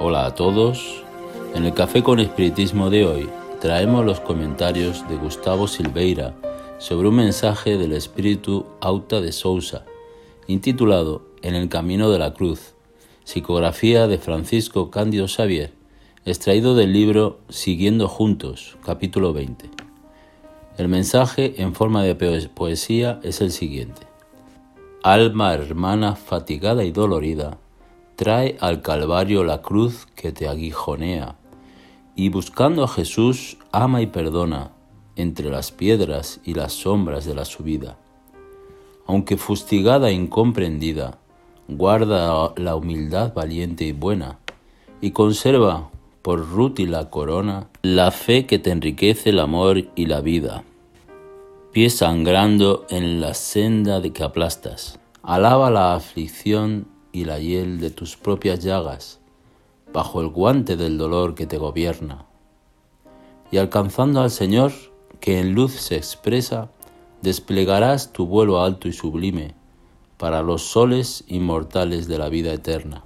Hola a todos. En el Café con Espiritismo de hoy traemos los comentarios de Gustavo Silveira sobre un mensaje del espíritu Auta de Sousa, intitulado En el camino de la cruz, psicografía de Francisco Cándido Xavier, extraído del libro Siguiendo Juntos, capítulo 20. El mensaje en forma de poesía es el siguiente. Alma hermana fatigada y dolorida, trae al Calvario la cruz que te aguijonea, y buscando a Jesús ama y perdona entre las piedras y las sombras de la subida. Aunque fustigada e incomprendida, guarda la humildad valiente y buena, y conserva por rútila corona la fe que te enriquece el amor y la vida. Pie sangrando en la senda de que aplastas, alaba la aflicción y la hiel de tus propias llagas, bajo el guante del dolor que te gobierna. Y alcanzando al Señor, que en luz se expresa, desplegarás tu vuelo alto y sublime para los soles inmortales de la vida eterna.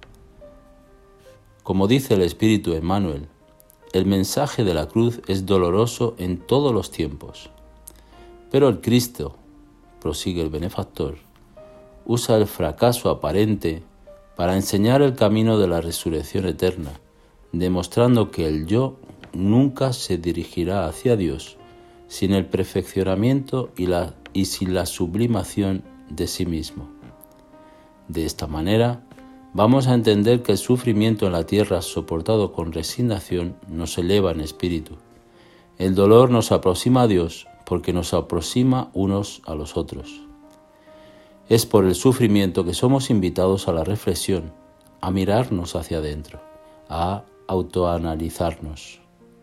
Como dice el Espíritu Emmanuel, el mensaje de la cruz es doloroso en todos los tiempos. Pero el Cristo, prosigue el benefactor, usa el fracaso aparente para enseñar el camino de la resurrección eterna, demostrando que el yo nunca se dirigirá hacia Dios sin el perfeccionamiento y sin la sublimación de sí mismo. De esta manera, vamos a entender que el sufrimiento en la tierra soportado con resignación nos eleva en espíritu. El dolor nos aproxima a Dios porque nos aproxima unos a los otros. Es por el sufrimiento que somos invitados a la reflexión, a mirarnos hacia adentro, a autoanalizarnos.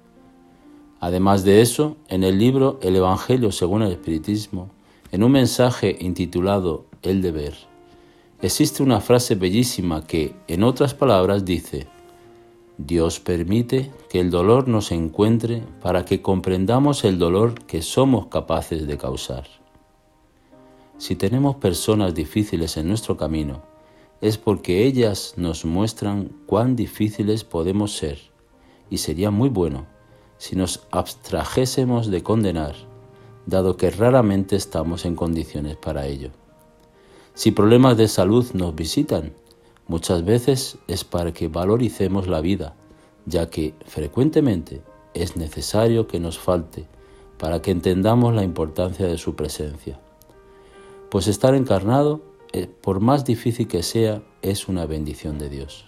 Además de eso, en el libro El Evangelio según el Espiritismo, en un mensaje intitulado El deber, existe una frase bellísima que, en otras palabras, dice: Dios permite que el dolor nos encuentre para que comprendamos el dolor que somos capaces de causar. Si tenemos personas difíciles en nuestro camino, es porque ellas nos muestran cuán difíciles podemos ser, y sería muy bueno si nos abstrajésemos de condenar, dado que raramente estamos en condiciones para ello. Si problemas de salud nos visitan, muchas veces es para que valoricemos la vida, ya que frecuentemente es necesario que nos falte para que entendamos la importancia de su presencia. Pues estar encarnado, por más difícil que sea, es una bendición de Dios.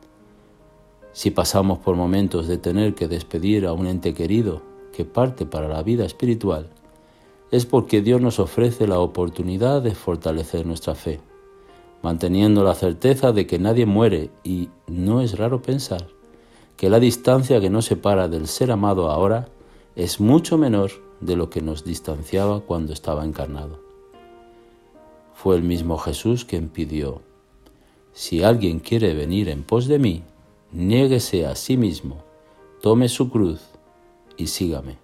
Si pasamos por momentos de tener que despedir a un ente querido que parte para la vida espiritual, es porque Dios nos ofrece la oportunidad de fortalecer nuestra fe, manteniendo la certeza de que nadie muere, y no es raro pensar que la distancia que nos separa del ser amado ahora es mucho menor de lo que nos distanciaba cuando estaba encarnado. Fue el mismo Jesús quien pidió: si alguien quiere venir en pos de mí, niéguese a sí mismo, tome su cruz y sígame.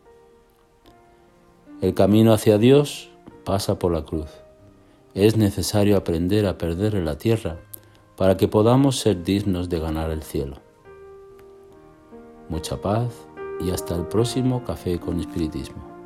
El camino hacia Dios pasa por la cruz. Es necesario aprender a perder en la tierra para que podamos ser dignos de ganar el cielo. Mucha paz y hasta el próximo Café con Espiritismo.